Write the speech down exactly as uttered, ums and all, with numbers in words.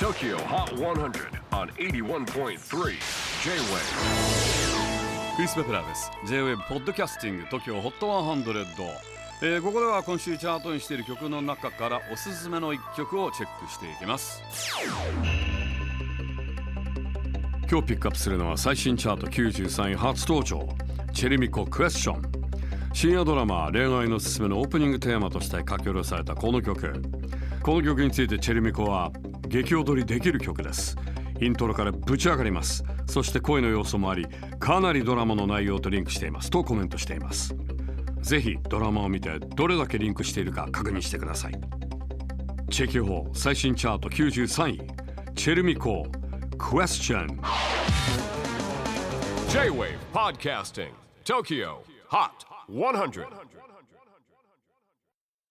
Tokyo Hot one hundred on エイティワンポイントスリー J-Wave。 クリス・ベプラーです。 J-Wave ポッドキャスティング TOKYO ホットハンドレッド、えー、ここでは今週チャートにしている曲の中からおすすめのいっきょくをチェックしていきます。今日ピックアップするのは最新チャートきゅうじゅうさんい初登場、チェルミコクエスチョン。深夜ドラマ恋愛のすすめのオープニングテーマとして書き下ろされたこの曲。この曲についてチェルミコは激踊りできる曲です。イントロからぶち上がります。そして声の要素もあり、かなりドラマの内容とリンクしていますとコメントしています。ぜひドラマを見てどれだけリンクしているか確認してください。チェキホー最新チャートきゅうじゅうさんい、チェルミコクエスチョン。 J-Wave Podcasting Tokyo Hot one hundred